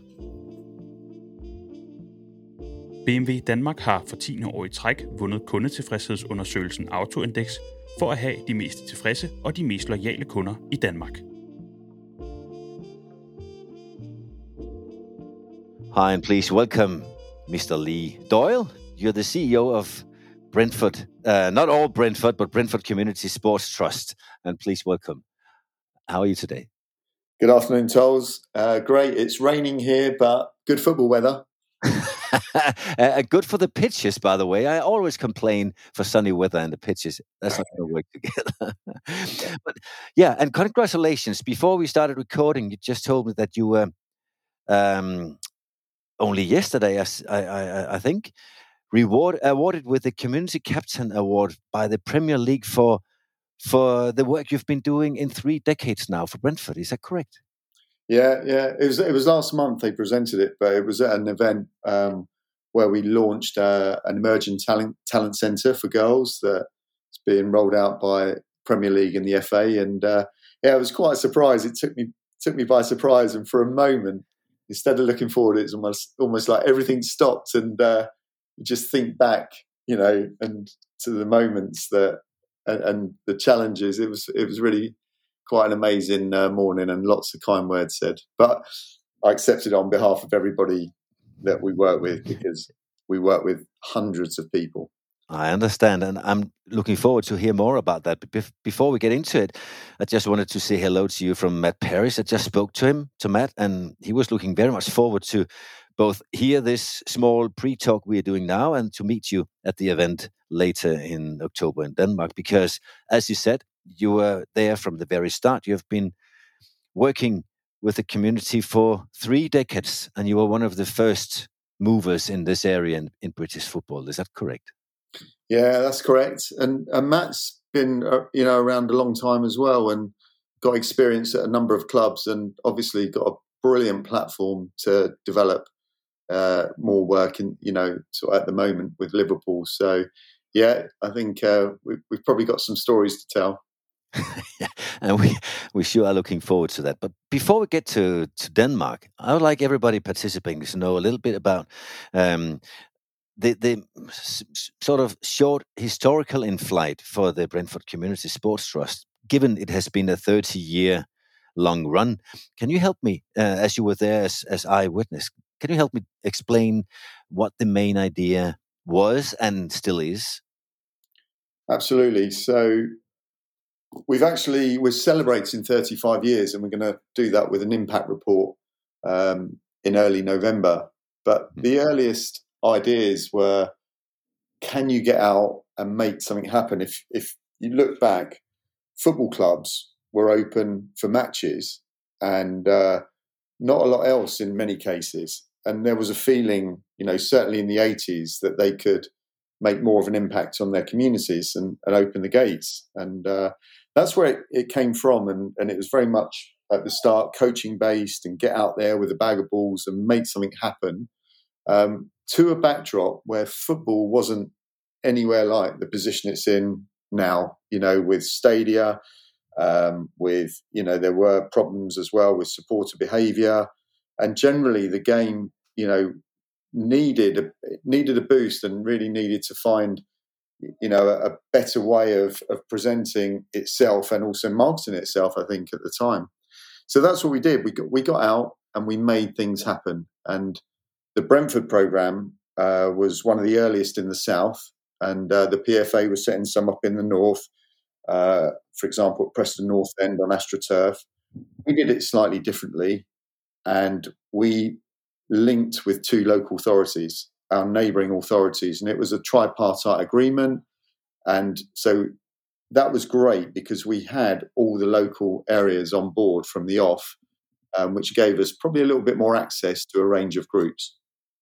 BMW Danmark har for 10. år i træk vundet kundetilfredshedsundersøgelsen Autoindex for at have de mest tilfredse og de mest loyale kunder i Danmark. Hi, and please welcome Mr. Lee Doyle. You're the CEO of Brentford, not all Brentford, but Brentford Community Sports Trust. And please welcome. How are you today? Good afternoon, Charles. Great. It's raining here, but good football weather. Good for the pitches, by the way. I always complain for sunny weather and the pitches. That's not going to work together. But yeah, and congratulations. Before we started recording, you just told me that you were only yesterday, I think, awarded with the Community Captain Award by the Premier League for the work you've been doing in 3 decades now for Brentford. Is that correct? Yeah. It was last month they presented it, but it was at an event where we launched an emerging talent centre for girls that's being rolled out by Premier League and the FA. And it was quite a surprise. It took me by surprise, and for a moment, instead of looking forward, it's almost like everything stopped, and you just think back, and to the moments and the challenges. It was really quite an amazing morning, and lots of kind words said. But I accepted on behalf of everybody that we work with, because we work with hundreds of people. I understand, and I'm looking forward to hear more about that. But before we get into it, I just wanted to say hello to you from Matt Parris. I just spoke to Matt, and he was looking very much forward to both hear this small pre-talk we are doing now and to meet you at the event later in October in Denmark. Because, as you said, you were there from the very start. You have been working with the community for 3 decades, and you were one of the first movers in this area in British football. Is that correct? Yeah, that's correct. And Matt's been around a long time as well, and got experience at a number of clubs, and obviously got a brilliant platform to develop more work at the moment with Liverpool. So yeah, I think we've probably got some stories to tell. And we sure are looking forward to that. But before we get to Denmark, I would like everybody participating to know a little bit about the sort of short historical in flight for the Brentford Community Sports Trust, given it has been a 30-year long run. Can you help me, as you were there as eyewitness, can you help me explain what the main idea was and still is? Absolutely. So we're celebrating 35 years, and we're going to do that with an impact report in early November. But the earliest ideas were, can you get out and make something happen? If you look back, football clubs were open for matches and not a lot else in many cases. And there was a feeling, certainly in the 80s, that they could make more of an impact on their communities and open the gates. And that's where it came from. And it was very much at the start coaching based, and get out there with a bag of balls and make something happen, to a backdrop where football wasn't anywhere like the position it's in now, with stadia, with, there were problems as well with supporter behaviour, and generally the game, needed a boost and really needed to find, a better way of presenting itself and also marketing itself, I think, at the time. So that's what we did. We got out and we made things happen. And the Brentford programme was one of the earliest in the south, and the PFA was setting some up in the north, for example, at Preston North End on AstroTurf. We did it slightly differently, and we linked with two local authorities, our neighbouring authorities, and it was a tripartite agreement. And so that was great because we had all the local areas on board from the off, which gave us probably a little bit more access to a range of groups.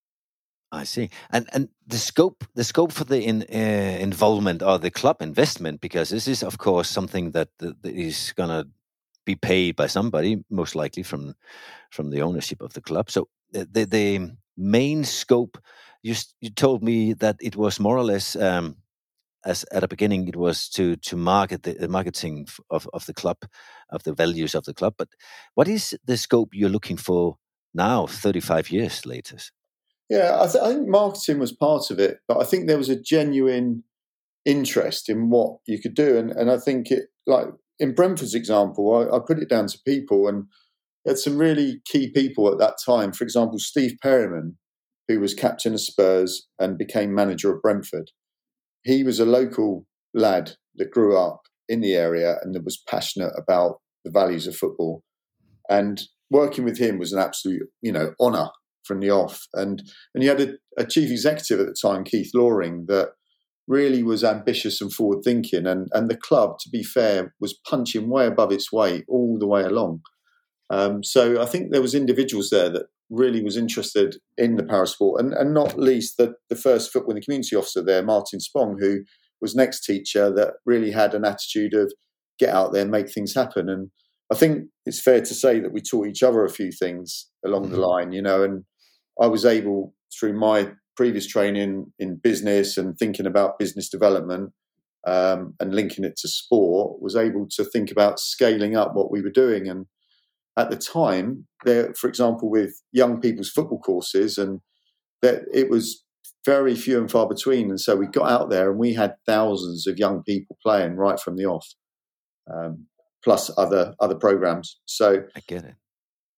I see. And the scope for the involvement or the club investment, because this is, of course, something that is going to be paid by somebody, most likely from the ownership of the club. So the main scope, you told me that it was more or less, as at the beginning, it was to market the marketing of the club, of the values of the club. But what is the scope you're looking for now, 35 years later? Yeah, I think marketing was part of it, but I think there was a genuine interest in what you could do. And I think it, like in Brentford's example, I put it down to people, and had some really key people at that time. For example, Steve Perryman, who was captain of Spurs and became manager of Brentford. He was a local lad that grew up in the area and that was passionate about the values of football. And working with him was an absolute, honour from the off. And you had a chief executive at the time, Keith Loring, that really was ambitious and forward thinking. And the club, to be fair, was punching way above its weight all the way along. So I think there was individuals there that really was interested in the parasport, and not least the first football in the community officer there, Martin Spong, who was an ex-teacher that really had an attitude of get out there, make things happen. And I think it's fair to say that we taught each other a few things along the line, and I was able, through my previous training in business and thinking about business development and linking it to sport, was able to think about scaling up what we were doing. And at the time, there, for example, with young people's football courses, and that it was very few and far between. And so we got out there and we had thousands of young people playing right from the off, plus other programs. So I get it.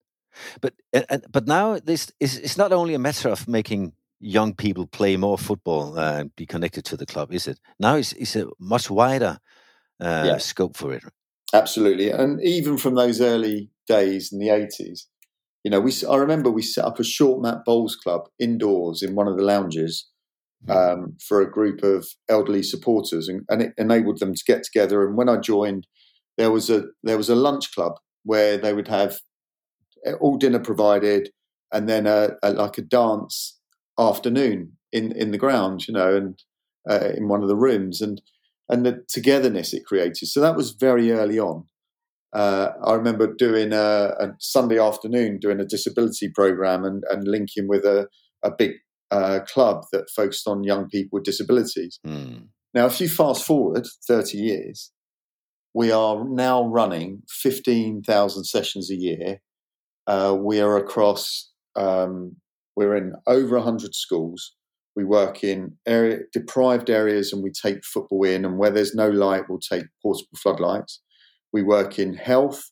But now this is not only a matter of making young people play more football and be connected to the club, is it? Now it's a much wider scope for it. Absolutely. And even from those early days in the 80s, I remember we set up a short mat bowls club indoors in one of the lounges for a group of elderly supporters, and it enabled them to get together. And when I joined, there was a lunch club where they would have all dinner provided, and then a dance afternoon in the ground, and in one of the rooms, and the togetherness it created. So that was very early on. I remember doing a Sunday afternoon, doing a disability program and linking with a big club that focused on young people with disabilities. Now, if you fast forward 30 years, we are now running 15,000 sessions a year. We are across, we're in over 100 schools. We work in deprived areas and we take football in, and where there's no light, we'll take portable floodlights. We work in health.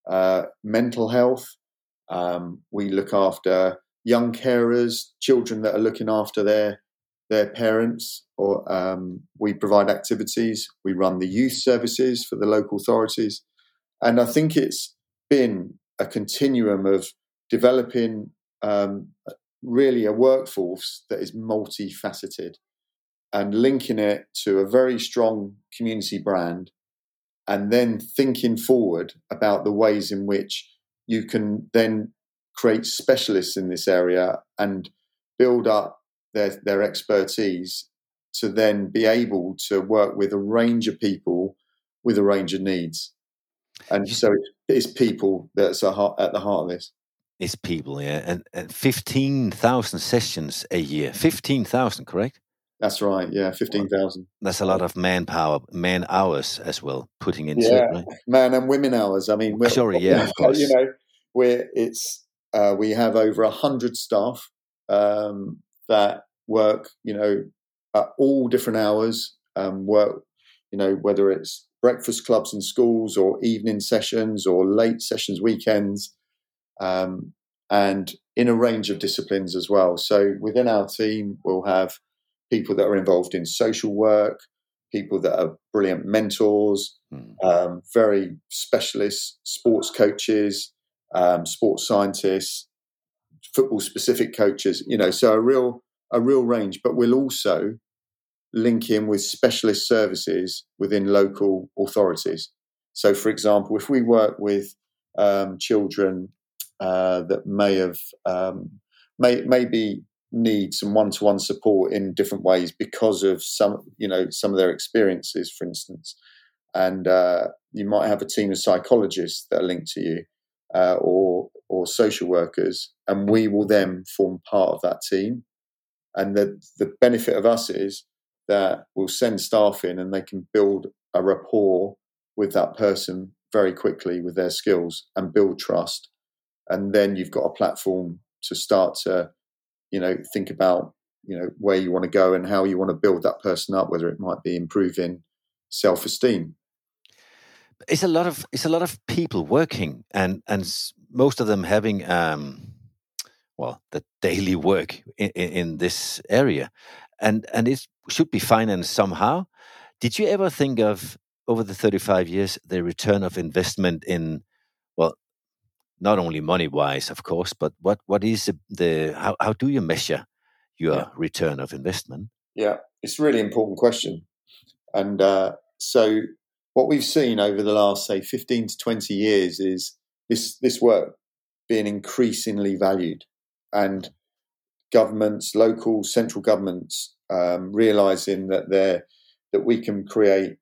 mental health. We look after young carers, children that are looking after their parents, or we provide activities. We run the youth services for the local authorities. And I think it's been a continuum of developing really a workforce that is multifaceted and linking it to a very strong community brand, and then thinking forward about the ways in which you can then create specialists in this area and build up their expertise to then be able to work with a range of people with a range of needs. And so it's people that's at the heart of this. It's people, yeah. And 15,000 sessions a year. 15,000, correct? That's right, yeah, 15,000. That's a lot of man hours as well, putting into it, right? Man and women hours. I mean, of course. You know, we have over 100 staff that work, you know, at all different hours. Work, you know, whether it's breakfast clubs in schools or evening sessions or late sessions, weekends, and in a range of disciplines as well. So within our team, we'll have people that are involved in social work, people that are brilliant mentors, very specialist sports coaches, sports scientists, football-specific coaches. You know, so a real range. But we'll also link in with specialist services within local authorities. So, for example, if we work with children that maybe need some one-to-one support in different ways because of some of their experiences, for instance, and you might have a team of psychologists that are linked to you, or social workers, and we will then form part of that team. And the benefit of us is that we'll send staff in and they can build a rapport with that person very quickly with their skills and build trust. And then you've got a platform to start to, you know, think about, you know, where you want to go and how you want to build that person up, whether it might be improving self-esteem. It's a lot of people working, and most of them having the daily work in this area, and it should be financed somehow. Did you ever think of, over the 35 years, the return of investment in, well, not only money-wise, of course, but what is how do you measure your return of investment? Yeah, it's a really important question. And so what we've seen over the last, say, 15 to 20 years is this work being increasingly valued, and governments, local, central governments, realising that we can create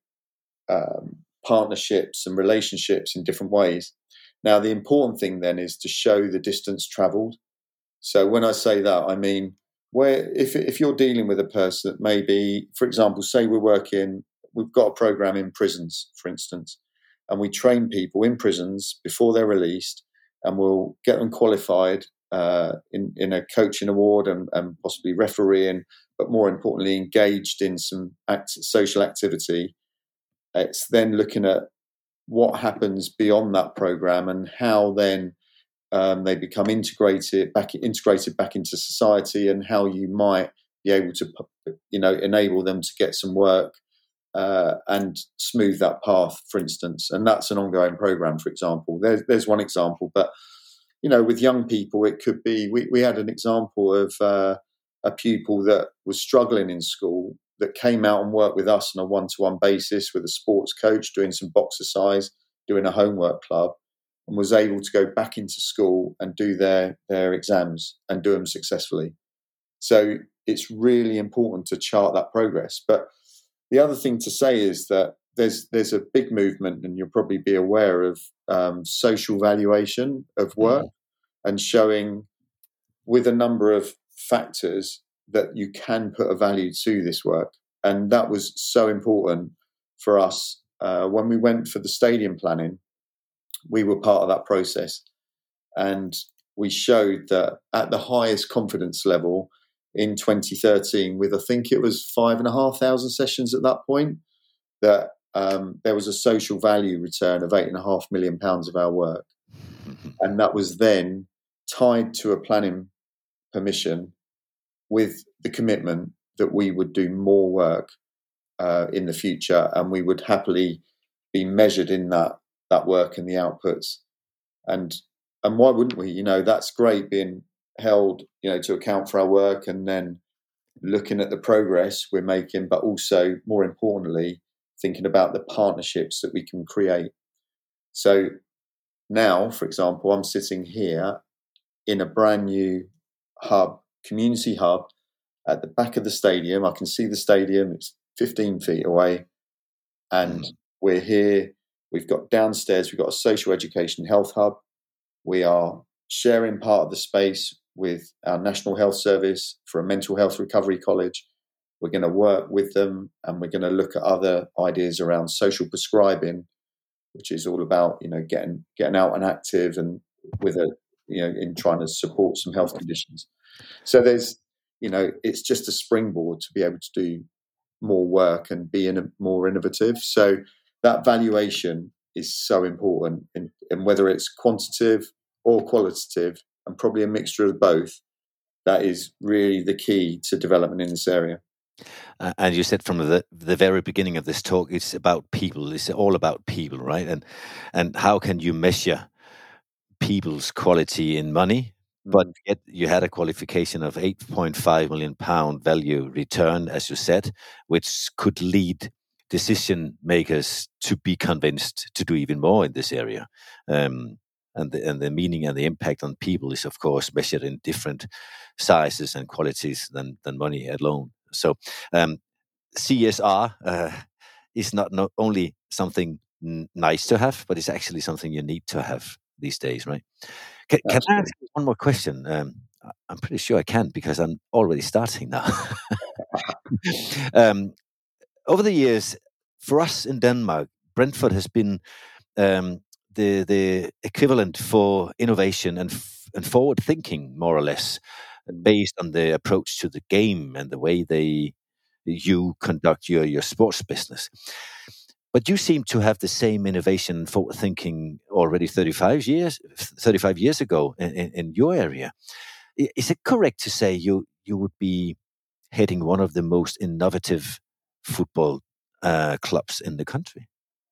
partnerships and relationships in different ways. Now, the important thing then is to show the distance travelled. So when I say that, I mean, if you're dealing with a person that maybe, for example, say we've got a program in prisons, for instance, and we train people in prisons before they're released, and we'll get them qualified in a coaching award and possibly refereeing, but more importantly, engaged in some social activity. It's then looking at what happens beyond that program and how then they become integrated back into society, and how you might be able to, you know, enable them to get some work and smooth that path, for instance. And that's an ongoing program, for example. There's one example, but you know, with young people, it could be. We had an example of a pupil that was struggling in school that came out and worked with us on a one-to-one basis with a sports coach, doing some boxercise, doing a homework club, and was able to go back into school and do their exams and do them successfully. So it's really important to chart that progress. But the other thing to say is that there's a big movement, and you'll probably be aware of social valuation of work, and showing with a number of factors that you can put a value to this work. And that was so important for us. When we went for the stadium planning, we were part of that process. And we showed that at the highest confidence level in 2013, with I think it was 5,500 sessions at that point, that there was a social value return of £8.5 million of our work. And that was then tied to a planning permission with the commitment that we would do more work in the future, and we would happily be measured in that work and the outputs. And why wouldn't we? You know, that's great being held, you know, to account for our work and then looking at the progress we're making, but also, more importantly, thinking about the partnerships that we can create. So now, for example, I'm sitting here in a brand new community hub at the back of the stadium. I can see the stadium. It's 15 feet away. And we're here. We've got downstairs, we've got a social education health hub. We are sharing part of the space with our National Health Service for a mental health recovery college. We're going to work with them, and we're going to look at other ideas around social prescribing, which is all about, you know, getting out and active, and with a, you know, in trying to support some health conditions. So there's, you know, it's just a springboard to be able to do more work and be more innovative. So that valuation is so important, and whether it's quantitative or qualitative, and probably a mixture of both, that is really the key to development in this area. And you said from the very beginning of this talk, it's about people. It's all about people, right? And how can you measure people's quality in money? But yet you had a qualification of £8.5 million value return, as you said, which could lead decision makers to be convinced to do even more in this area. And the meaning and the impact on people is, of course, measured in different sizes and qualities than money alone. So CSR is not only something nice to have, but it's actually something you need to have these days, right? Can I ask you one more question? I'm pretty sure I can, because I'm already starting now. Over the years, for us in Denmark, Brentford has been the equivalent for innovation and forward thinking, more or less, based on the approach to the game and the way you conduct your sports business. But you seem to have the same innovation, forward thinking already 35 years ago in your area. Is it correct to say you would be heading one of the most innovative football clubs in the country?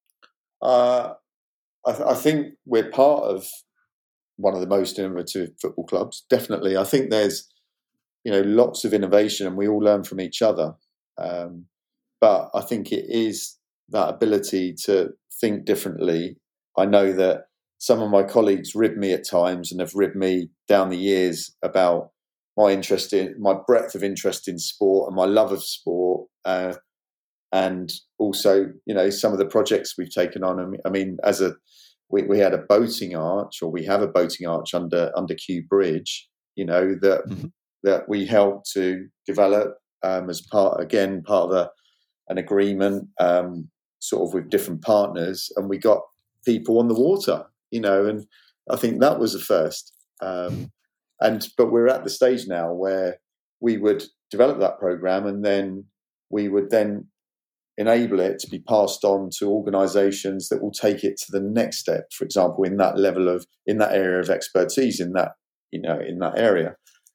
I think we're part of one of the most innovative football clubs. Definitely. I think there's, you know, lots of innovation, and we all learn from each other. But I think it is that ability to think differently. I know that some of my colleagues rib me at times, and have ribbed me down the years about my breadth of interest in sport and my love of sport. And also, you know, some of the projects we've taken on. I mean, we had a boating arch, or we have a boating arch under Kew Bridge, you know, that we helped to develop as part of an agreement, sort of with different partners, and we got people on the water, you know, and I think that was a first. But we're at the stage now where we would develop that program, and then we would then enable it to be passed on to organisations that will take it to the next step. For example, in that area of expertise, in that area,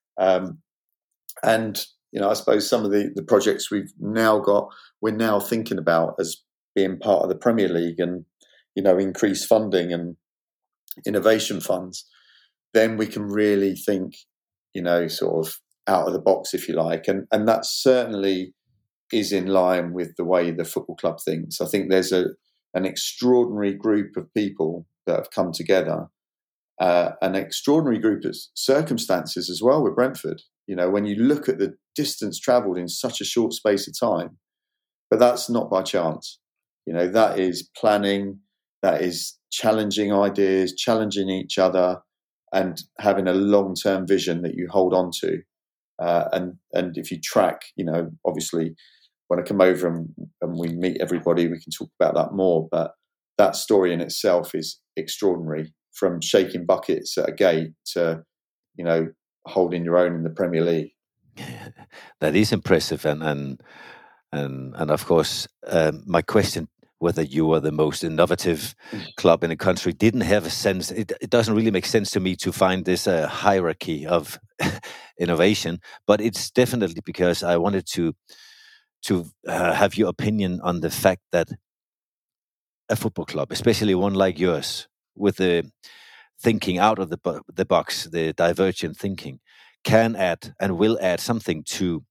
and you know, I suppose some of the projects we're now thinking about as being part of the Premier League, and you know, increased funding and innovation funds. Then we can really think, you know, sort of out of the box, if you like, and that certainly is in line with the way the football club thinks. I think there's an extraordinary group of people that have come together, an extraordinary group of circumstances as well with Brentford. You know, when you look at the distance travelled in such a short space of time, but that's not by chance. You know, that is planning, that is challenging ideas, challenging each other, and having a long-term vision that you hold on to. And if you track, you know, obviously when I come over and we meet everybody, we can talk about that more. But that story in itself is extraordinary, from shaking buckets at a gate to, you know, holding your own in the Premier League. That is impressive, and of course, my question whether you were the most innovative club in the country didn't have a sense. It doesn't really make sense to me to find this hierarchy of innovation, but it's definitely because I wanted to have your opinion on the fact that a football club, especially one like yours, with the thinking out of the box, the divergent thinking, can add and will add something to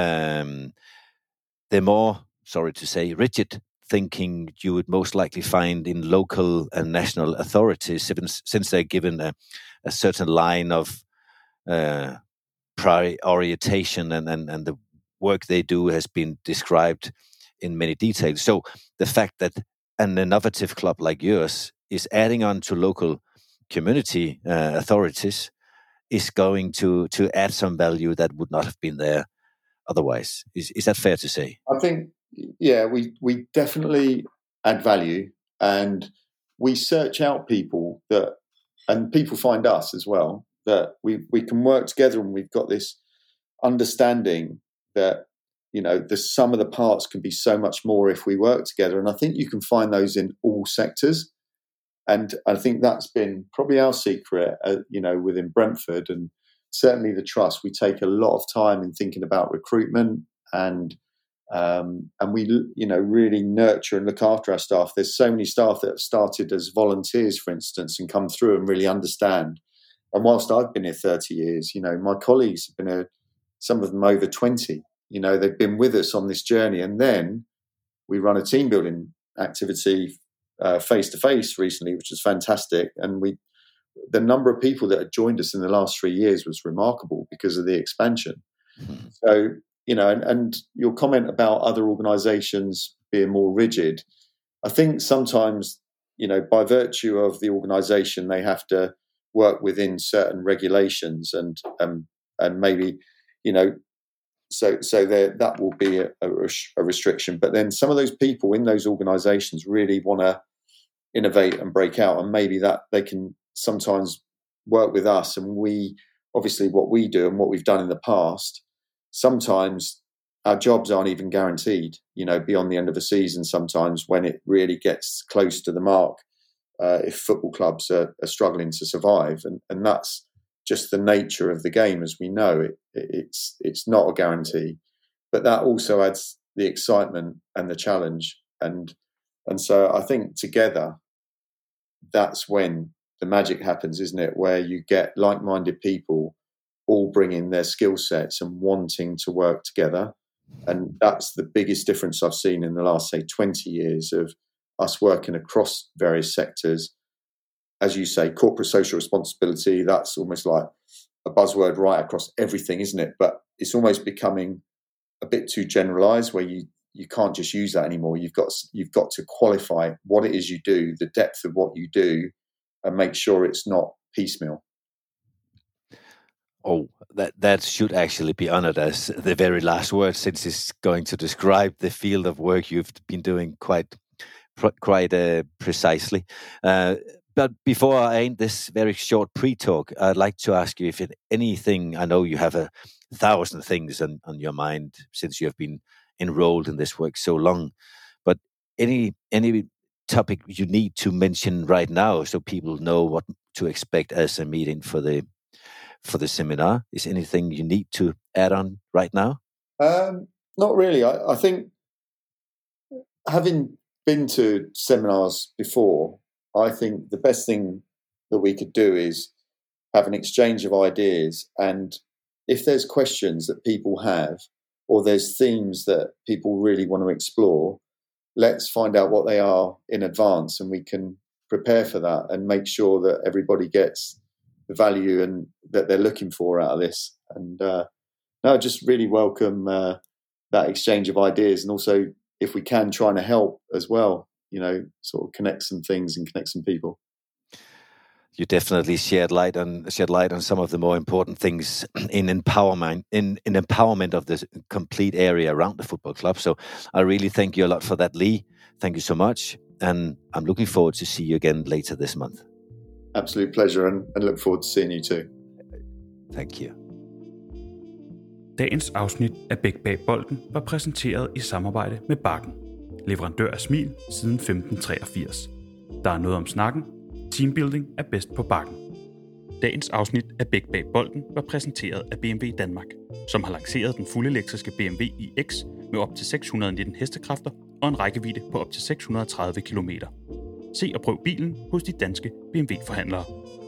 the more, sorry to say, rigid thinking you would most likely find in local and national authorities, since they're given a certain line of prioritation and the work they do has been described in many details. So the fact that an innovative club like yours is adding on to local community authorities is going to add some value that would not have been there otherwise. Is that fair to say? I think, yeah, we definitely add value, and we search out people and people find us as well, that we can work together, and we've got this understanding that, the sum of the parts can be so much more if we work together. And I think you can find those in all sectors. And I think that's been probably our secret, within Brentford, and certainly the trust. We take a lot of time in thinking about recruitment, and we, really nurture and look after our staff. There's so many staff that have started as volunteers, for instance, and come through and really understand. And whilst I've been here 30 years, my colleagues have been here, some of them over 20. They've been with us on this journey. And then we run a team building activity face to face recently, which was fantastic. And the number of people that had joined us in the last 3 years was remarkable because of the expansion. Mm-hmm. So, and your comment about other organisations being more rigid, I think sometimes, by virtue of the organisation, they have to work within certain regulations and maybe, so that will be a restriction. But then some of those people in those organisations really want to innovate and break out, and maybe that they can sometimes work with us. And we, obviously, what we do and what we've done in the past, sometimes our jobs aren't even guaranteed, beyond the end of a season, sometimes when it really gets close to the mark, if football clubs are struggling to survive. And that's just the nature of the game, as we know. It's not a guarantee, but that also adds the excitement and the challenge. And so I think together, that's when the magic happens, isn't it? Where you get like-minded people all bringing their skill sets and wanting to work together. And that's the biggest difference I've seen in the last, say, 20 years of us working across various sectors. As you say, corporate social responsibility, that's almost like a buzzword right across everything, isn't it? But it's almost becoming a bit too generalised, where you can't just use that anymore. You've got to qualify what it is you do, the depth of what you do, and make sure it's not piecemeal. Oh, that should actually be honoured as the very last word, since it's going to describe the field of work you've been doing quite precisely. But before I end this very short pre-talk, I'd like to ask you if anything, I know you have 1,000 things on your mind since you have been enrolled in this work so long, but any topic you need to mention right now so people know what to expect as a meeting for the seminar? Is anything you need to add on right now? Not really. I think, having been to seminars before, I think the best thing that we could do is have an exchange of ideas. And if there's questions that people have, or there's themes that people really want to explore, let's find out what they are in advance, and we can prepare for that and make sure that everybody gets the value and that they're looking for out of this. And just really welcome that exchange of ideas, and also, if we can, trying to help as well, sort of connect some things and connect some people. You definitely shed light on some of the more important things in empowerment of the complete area around the football club. So I really thank you a lot for that, Lee. Thank you so much, and I'm looking forward to see you again later this month. Absolute pleasure, and look forward to seeing you too. Thank you. Dagens afsnit af Bæk bag bolden var præsenteret i samarbejde med Bakken. leverandør af smil siden 1583. Der er noget om snakken. Teambuilding er bedst på Bakken. Dagens afsnit af Bæk bag bolden var præsenteret af BMW Danmark, som har lanceret den fuldelektriske BMW iX med op til 619 hestekræfter og en rækkevidde på op til 630 km. Se og prøv bilen hos de danske BMW-forhandlere.